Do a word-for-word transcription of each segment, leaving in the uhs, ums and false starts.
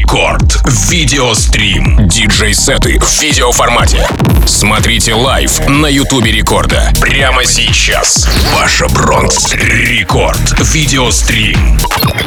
Рекорд. Видеострим. Диджей-сеты в видеоформате. Смотрите лайв на Ютубе Рекорда. Прямо сейчас. Паша Бронкс. Рекорд. Видеострим.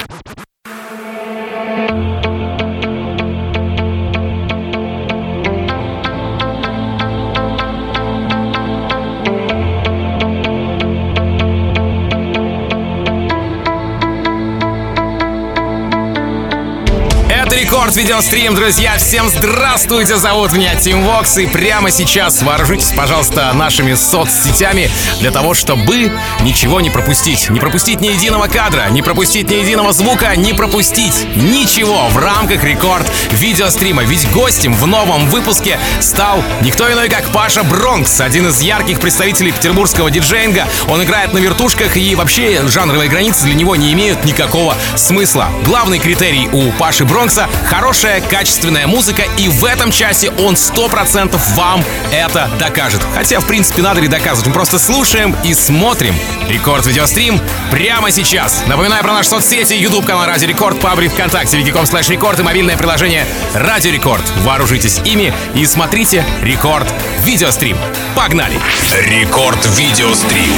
Рекорд видеострим, друзья, всем здравствуйте, зовут меня Тим Вокс, и прямо сейчас вооружитесь, пожалуйста, нашими соцсетями для того, чтобы ничего не пропустить. Не пропустить ни единого кадра, не пропустить ни единого звука, не пропустить ничего в рамках Рекорд видеострима. Ведь гостем в новом выпуске стал никто иной, как Паша Бронкс, один из ярких представителей петербургского диджеинга. Он играет на вертушках, и вообще жанровые границы для него не имеют никакого смысла. Главный критерий у Паши Бронкса — хорошая, качественная музыка, и в этом часе он сто процентов вам это докажет. Хотя, в принципе, надо ли доказывать? Мы просто слушаем и смотрим Рекорд видеострим прямо сейчас. Напоминаю про наши соцсети: YouTube канал Радио Рекорд, паблик ВКонтакте, wiki точка com слэш рекорд и мобильное приложение Радио Рекорд. Вооружитесь ими и смотрите Рекорд видеострим. Погнали! Рекорд видеострим.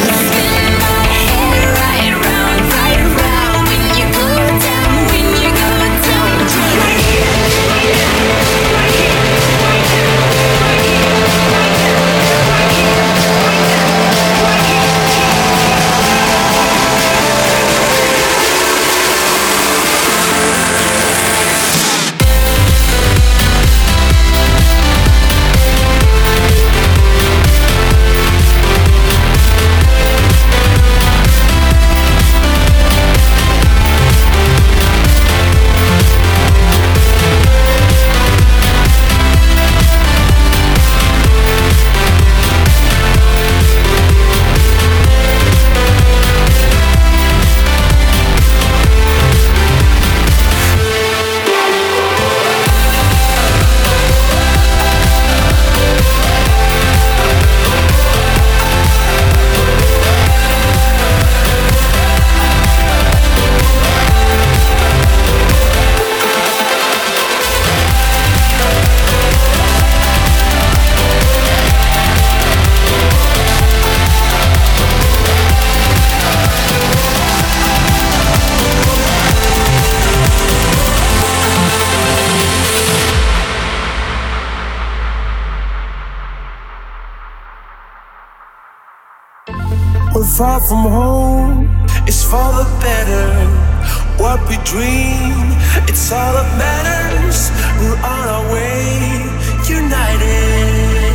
Far from home, it's for the better. What we dream, it's all that matters. We're on our way, united.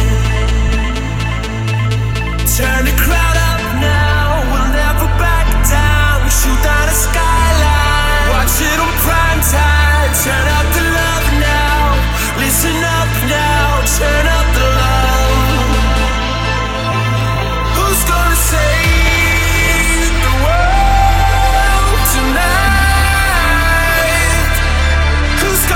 Turn the crowd up now, we'll never back down. Shoot down the skyline, watch it on prime time. Turn up the love now, listen up now. Turn up the love. Who's gonna say tonight? Who's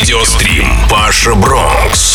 Видеострим Паша Бронкс.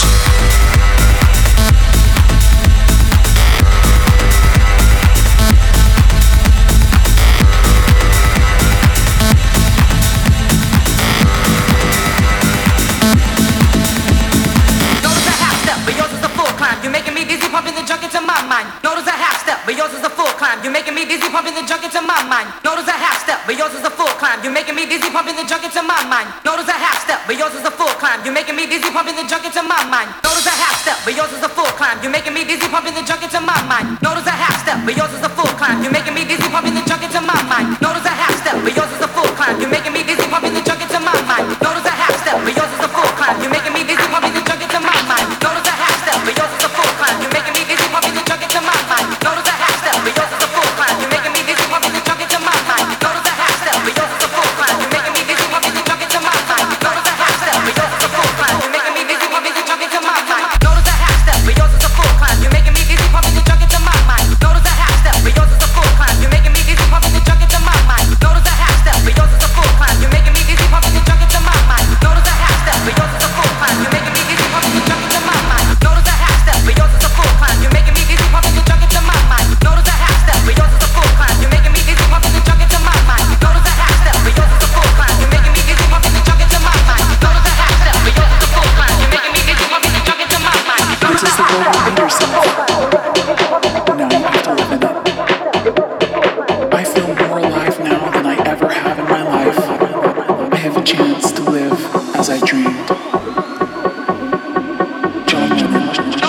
Notice a half step, but yours is a full climb. You're making me dizzy, pumping the junk into my mind. Notice a half step, but yours is a full climb. You're making me dizzy, pumping the junk into my mind. Notice a half step, but yours is a full climb. You're making me dizzy, pumping the junk into my mind. Notice a half step, but yours is a full climb. You're making me dizzy, pumping the junk into my mind. Notice a half step, but yours is a full climb. You're making me dizzy, pumping the junk into my mind. Notice a half step, but yours is a full climb. You're making me dizzy, pumping the junk into my mind. Notice a half step, but yours is a full climb. You're making me dizzy, pumping the junk into my mind. Notice a half step, but yours is a full climb. You're making me dizzy, pumping the junk into my mind. Notice a half step, but yours is a full climb. You're making me dizzy, pumping the junk into my mind. Notice a half step, but yours is a full climb. You're making me dizzy, pumping the junk into my mind. Notice a half step, but yours is a full climb. You're making me dizzy, pumping the junk into my mind. Notice a half step, but yours is a full climb. You're making me dizzy, pumping the junk into my mind. Notice a half step, but yours is a full climb. You're making me dizzy, pumping the junk into my mind. Notice a half step, but yours is a full climb. You're making me dizzy, pumping the junk into my mind. Notice a half step, but yours is a full climb. You're making me dizzy, pumping the junk into my mind. Notice a half step, but yours is a full climb. You're making me dizzy, pumping the junk into my mind. Notice a half step, but yours is a full climb. You're making me dizzy, pumping the junk into my mind. Notice a half step, but yours is a full climb. You're making me dizzy, pumping the junk into my mind. Notice a half step, but yours is a full climb. You're making me dizzy, pumping the junk into my mind. This is the world you made yourself. Now you have to live in it. I feel more alive now than I ever have in my life. I have a chance to live as I dreamed. John Lennon.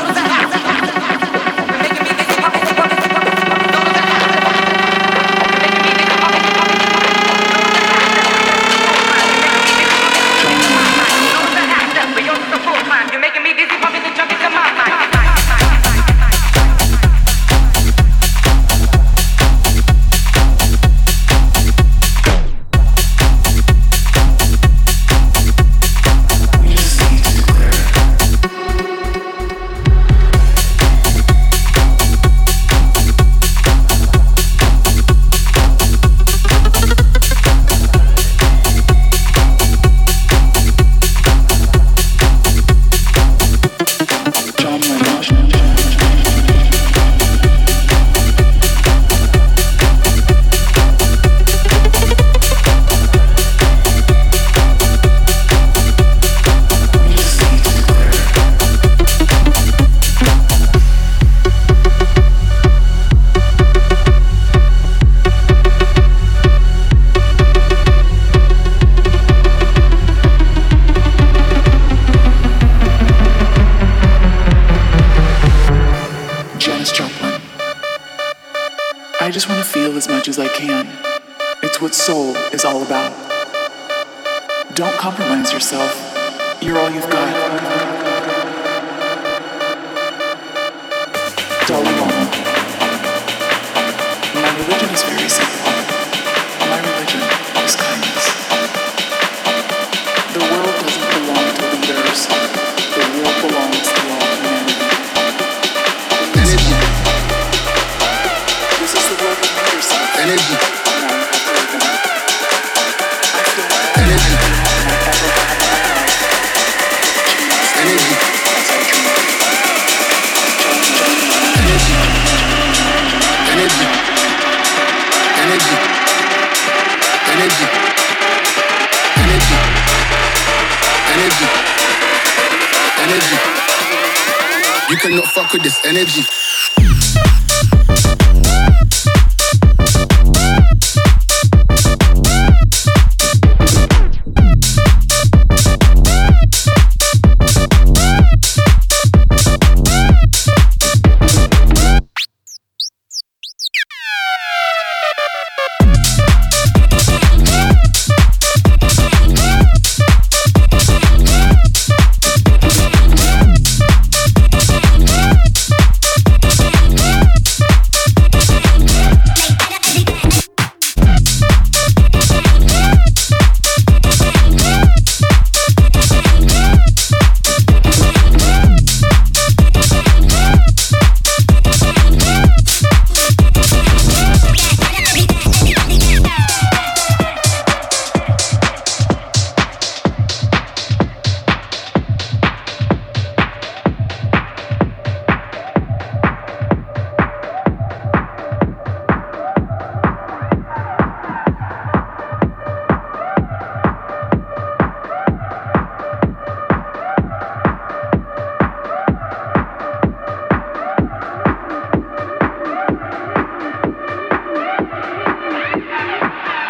I just want to feel as much as I can. It's what soul is all about. Don't compromise yourself. You're all you've got. Darling Mama, my religion is very simple. My religion is kindness. The world doesn't belong to leaders. The world belongs to all humanity. Energy. This is the world you made yourself. Energy. Now you have to live in it. I feel like energy. I ever have in my life. Energy. As I dream. Energy. Energy. Energy. Energy. Energy. Energy. You cannot fuck with this energy.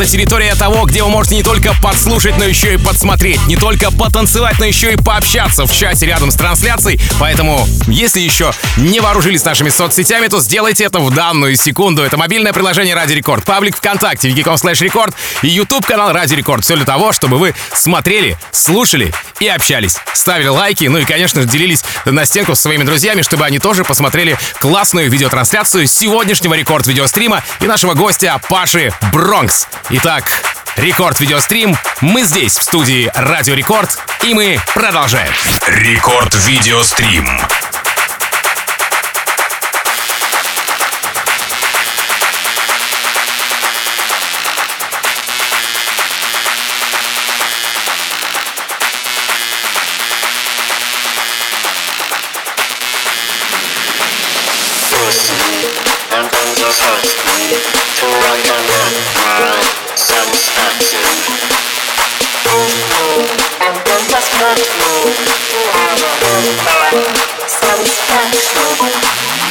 Это территория того, где вы можете не только подслушать, но еще и подсмотреть. Не только потанцевать, но еще и пообщаться в чате рядом с трансляцией. Поэтому, если еще не вооружились нашими соцсетями, то сделайте это в данную секунду. Это мобильное приложение Радио Рекорд, паблик ВКонтакте, вики точка ком слэш рекорд и YouTube-канал Радио Рекорд. Все для того, чтобы вы смотрели, слушали и общались. Ставили лайки, ну и, конечно же, делились на стенку со своими друзьями, чтобы они тоже посмотрели классную видеотрансляцию сегодняшнего рекорд-видеострима и нашего гостя Паши Бронкс. Итак, рекорд-видеострим. Мы здесь, в студии Радио Рекорд, и мы продолжаем. Рекорд-видеострим. And then just hurt me till I can get my satisfaction. And then just hurt me till I can get my satisfaction.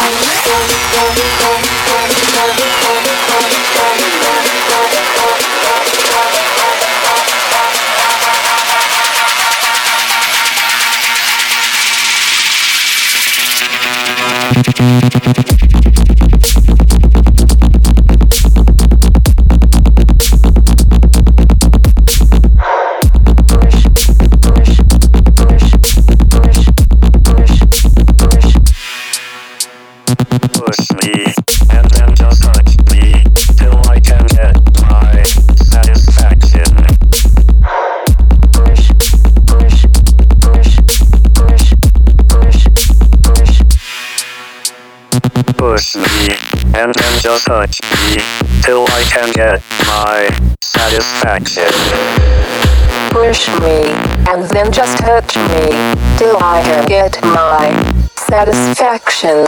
Push me, and then just touch me, till I can get my satisfaction. Push me, and then just touch me, till I can get my satisfaction.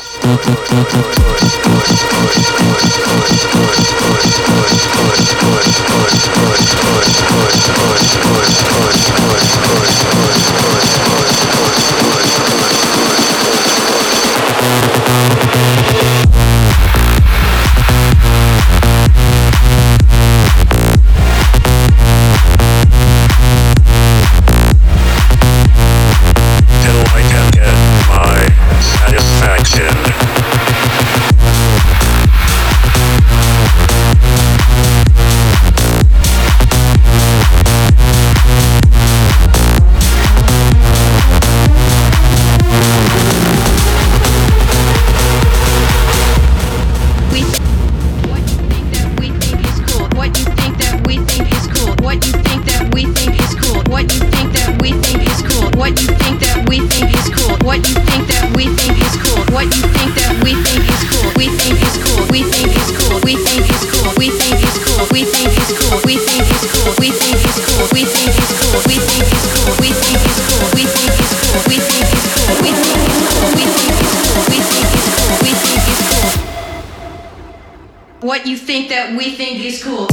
What you think that we think is cool.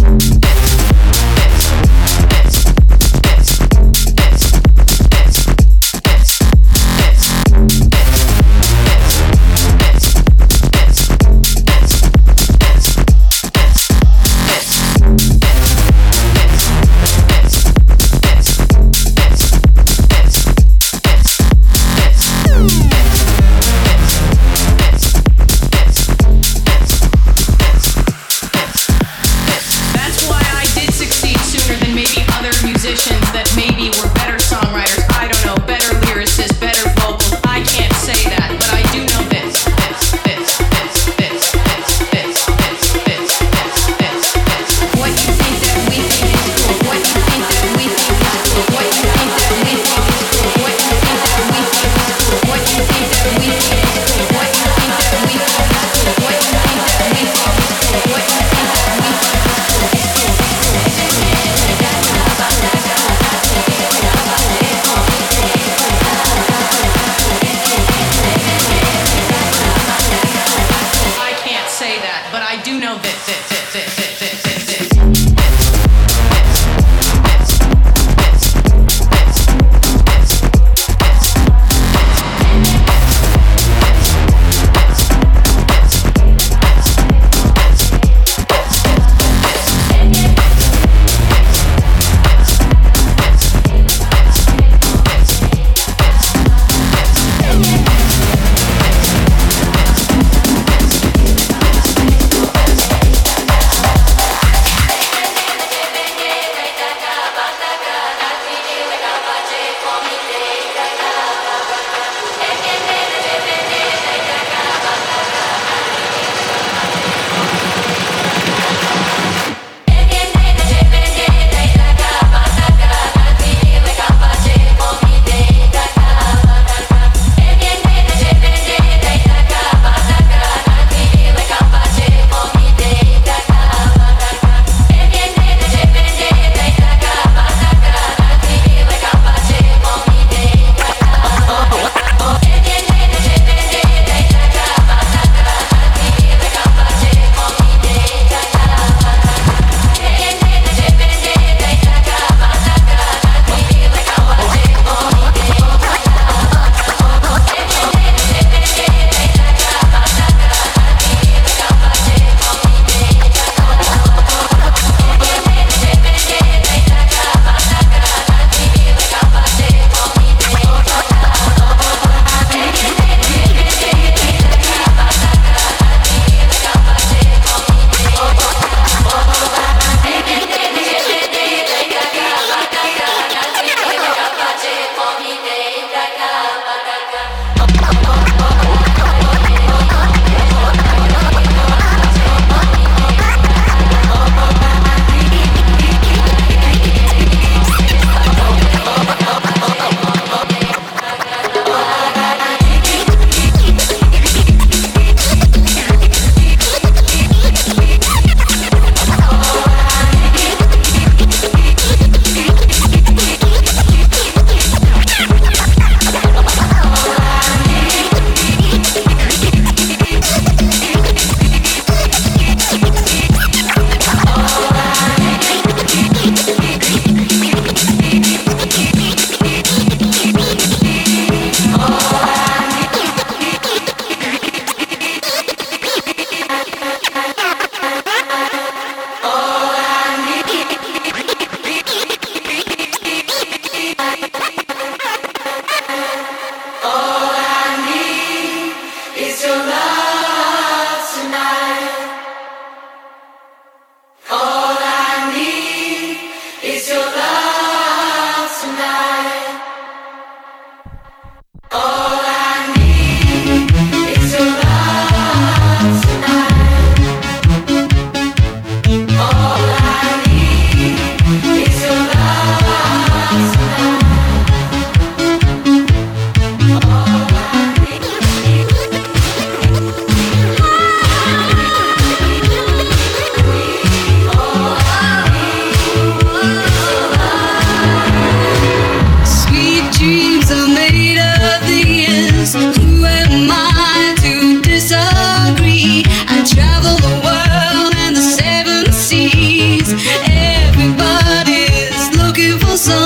That's why I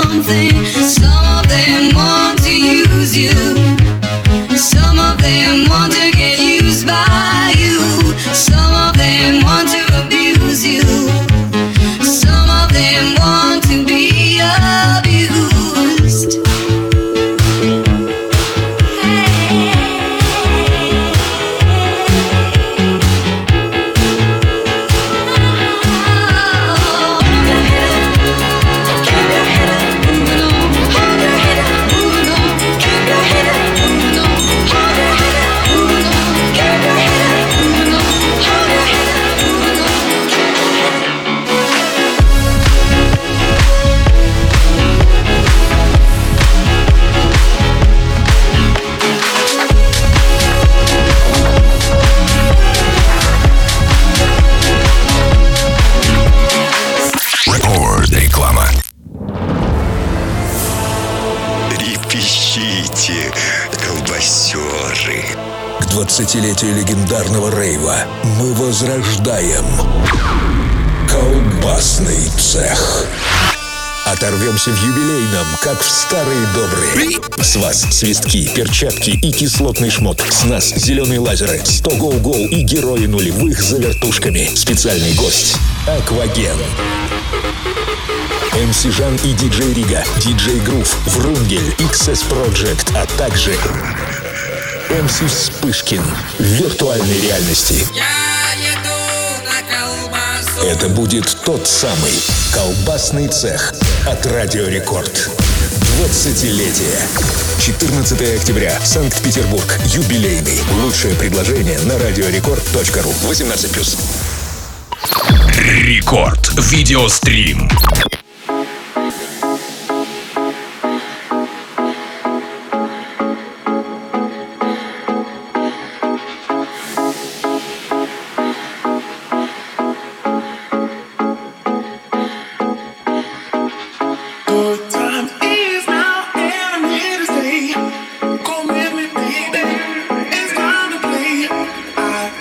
something. Some of them want to use you. Some of them want to get used by you. Some of them want to abuse you. Some of them want to be abused. Реклама. Трепещите, колбасеры. К двадцатилетию легендарного рейва мы возрождаем колбасный цех. Оторвемся в юбилейном, как в старые добрые. С вас свистки, перчатки и кислотный шмот. С нас зеленые лазеры, сто гоу-гоу и герои нулевых за вертушками. Специальный гость — Акваген. эм си Жан и диджей Рига, диджей Грув, Врунгель, икс эс Project, а также эм си Вспышкин в виртуальной реальности. Это будет тот самый колбасный цех от Радио Рекорд. двадцатилетие. четырнадцатого октября. Санкт-Петербург. Юбилейный. Лучшее предложение на радиорекорд точка ру. восемнадцать плюс. Рекорд. Видеострим.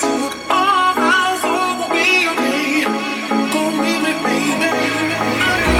Baby,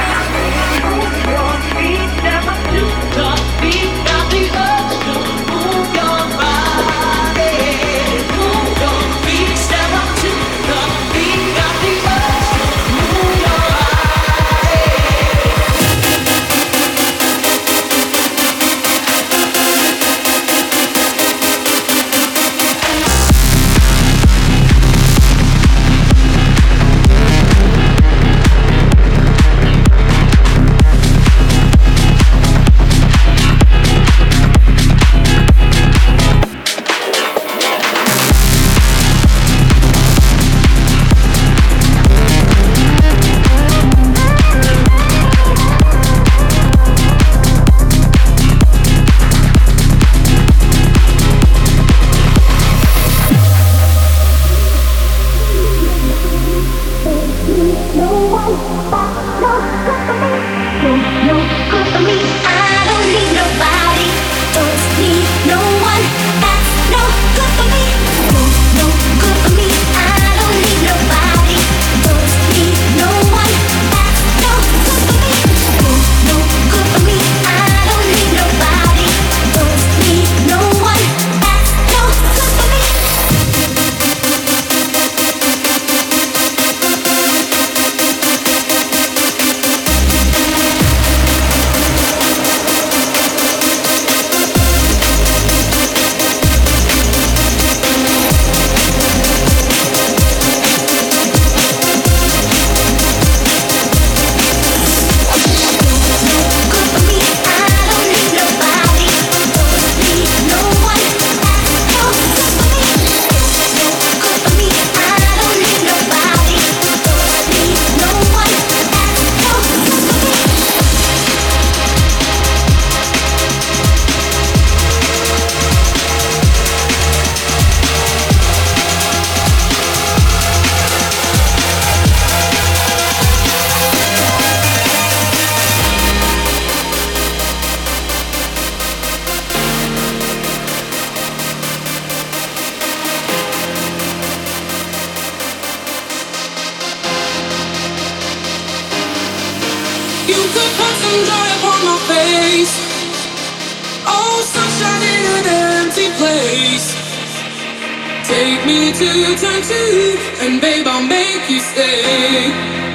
to turn to, and babe, I'll make you stay.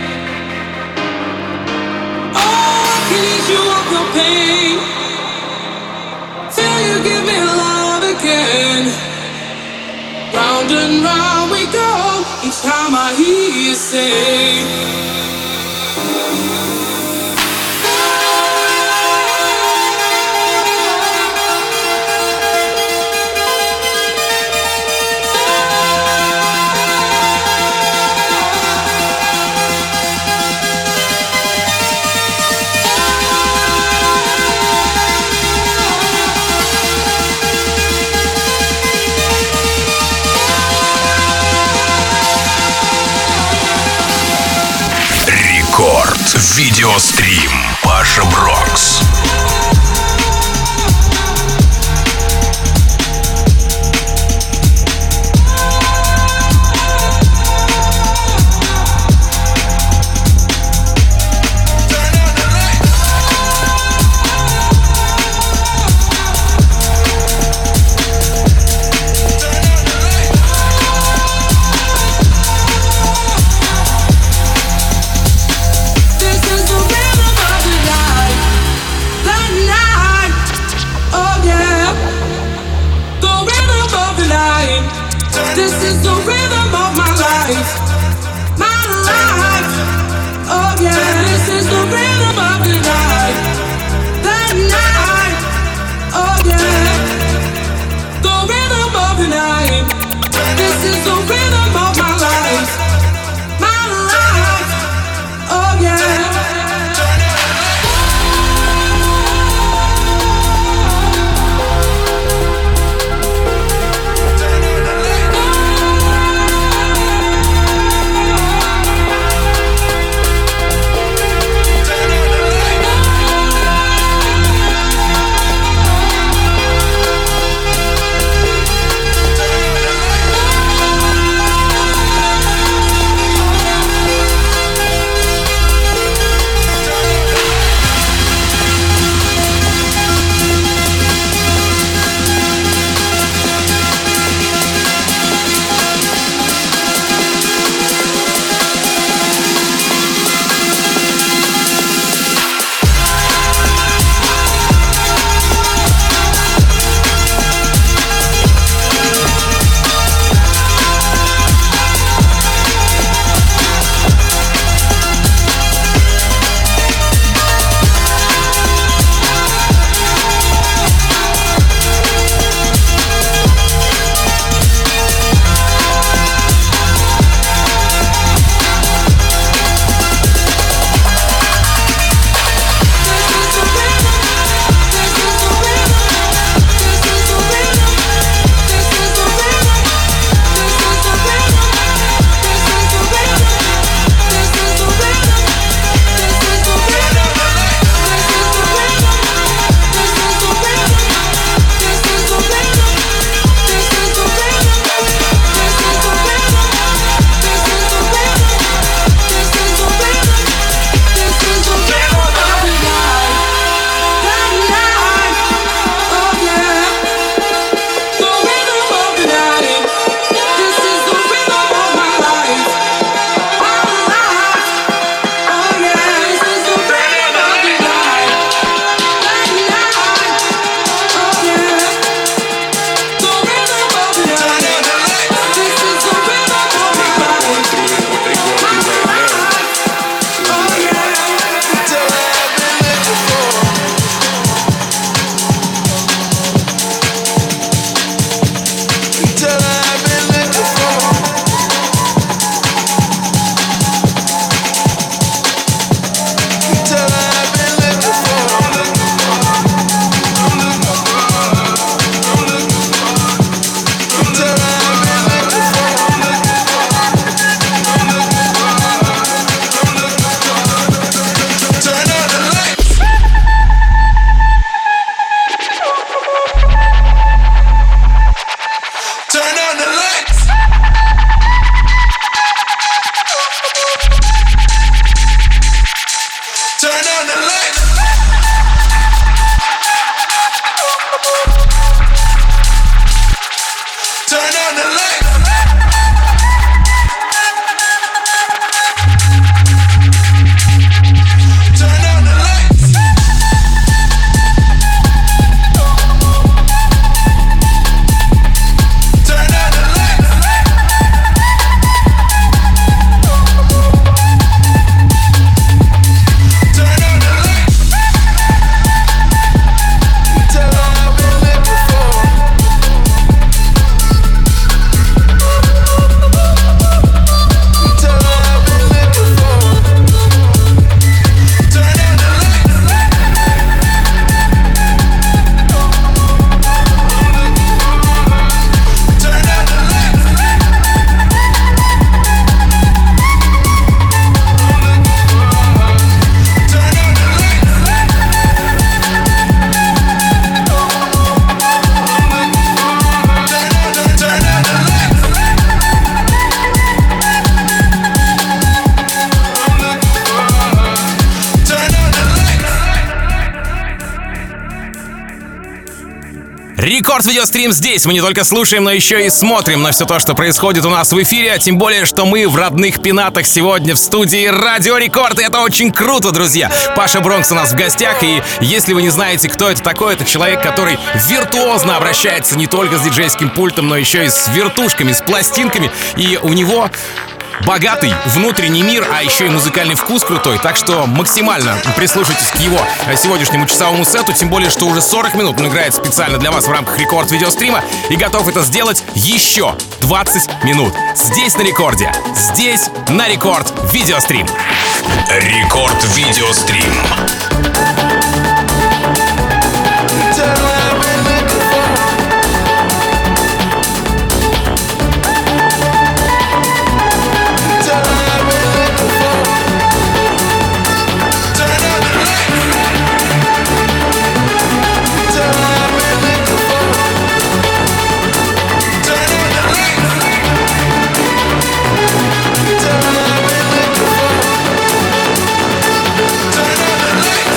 Oh, I can ease you of your pain till you give me love again. Round and round we go each time I hear you say. Видеострим Паша Брокс. This is the rhythm of the night. Рекорд Видеострим здесь. Мы не только слушаем, но еще и смотрим на все то, что происходит у нас в эфире. А тем более, что мы в родных пенатах сегодня в студии Радио Рекорд. И это очень круто, друзья. Паша Бронкс у нас в гостях. И если вы не знаете, кто это такой, это человек, который виртуозно обращается не только с диджейским пультом, но еще и с вертушками, с пластинками. И у него богатый внутренний мир, а еще и музыкальный вкус крутой. Так что максимально прислушайтесь к его сегодняшнему часовому сету. Тем более, что уже сорок минут он играет специально для вас в рамках Рекорд Видеострима. И готов это сделать еще двадцать минут. Здесь на Рекорде. Здесь на Рекорд Видеострим. Рекорд Видеострим. Turn on the lights.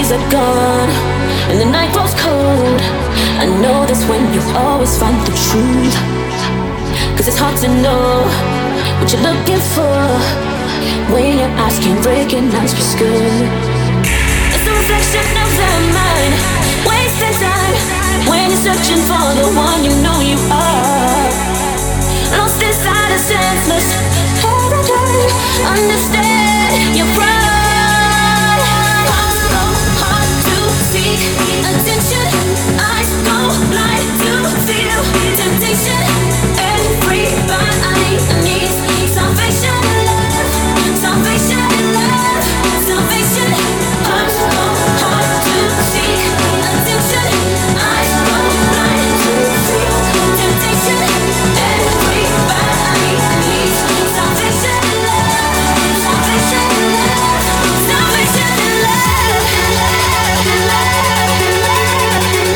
days are gone and the night grows cold, I know that's when you'll always find the truth. Cause it's hard to know what you're looking for when your eyes can't recognize what's good. It's a reflection of the mind, wasting time when you're searching for the one you know you are. Lost inside a senseless paradigm, understand your pride. Hearts go hard to seek attention, eyes go blind to feel temptation. Everybody needs salvation and love, salvation and love, salvation. Hearts go hard to seek attention, eyes go blind to feel temptation. Everybody needs salvation and love, salvation and love, salvation and love, and love, and love, and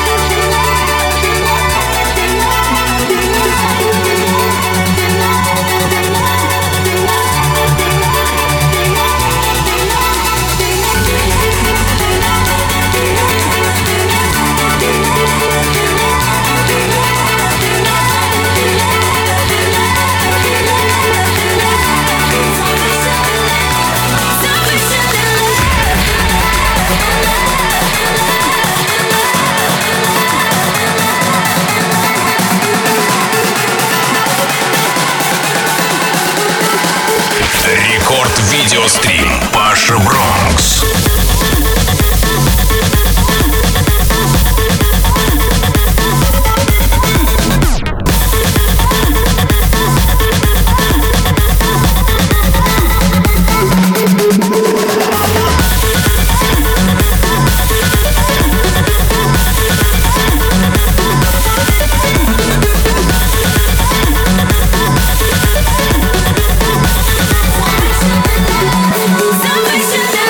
Рекорд видеострим Паша Бронкс. salvation.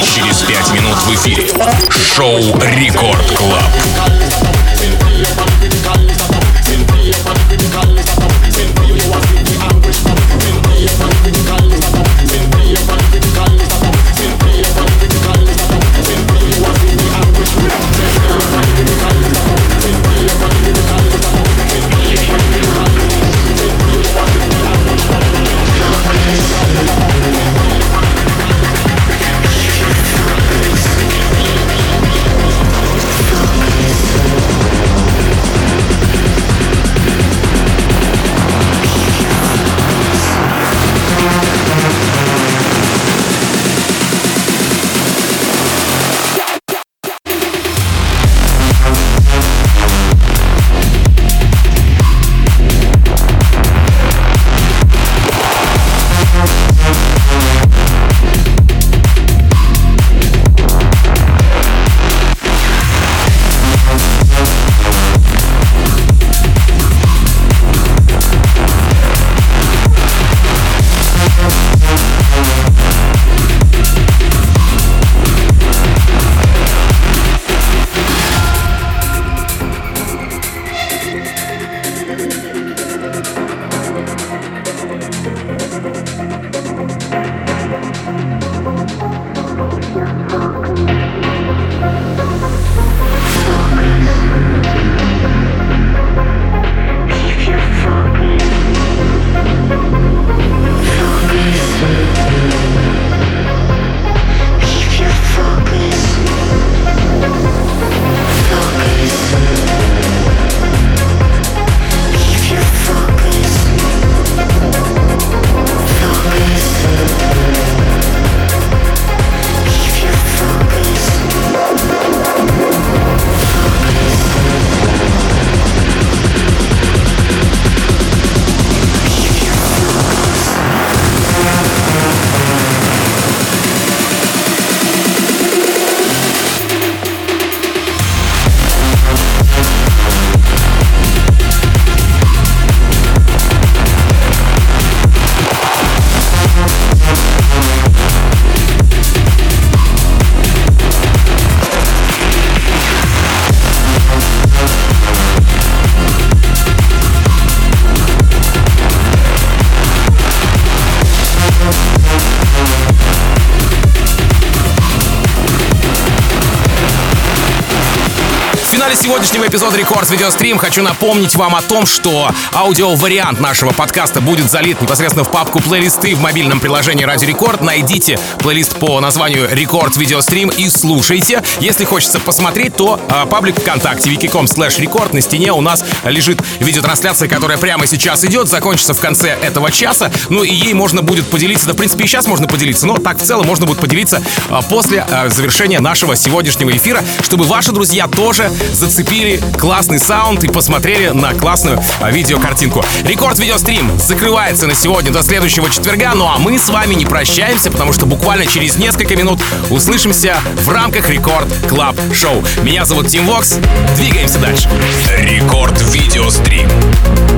через пять минут в эфире. Шоу Рекорд Клаб. We'll be right back. сегодняшнего эпизода Рекорд Видеострим хочу напомнить вам о том, что аудиовариант нашего подкаста будет залит непосредственно в папку плейлисты в мобильном приложении Радио Рекорд. Найдите плейлист по названию Рекорд Видеострим и слушайте. Если хочется посмотреть, то а, паблик ВКонтакте вики точка ком слэш рекорд. На стене у нас лежит видеотрансляция, которая прямо сейчас идет, закончится в конце этого часа. Ну и ей можно будет поделиться, да в принципе и сейчас можно поделиться, но так в целом можно будет поделиться а, после а, завершения нашего сегодняшнего эфира, чтобы ваши друзья тоже зацепили классный саунд и посмотрели на классную а, видеокартинку. Рекорд Видеострим закрывается на сегодня до следующего четверга, ну а мы с вами не прощаемся, потому что буквально через несколько минут услышимся в рамках Рекорд Клаб Шоу. Меня зовут Тим Вокс, двигаемся дальше. Рекорд Видеострим.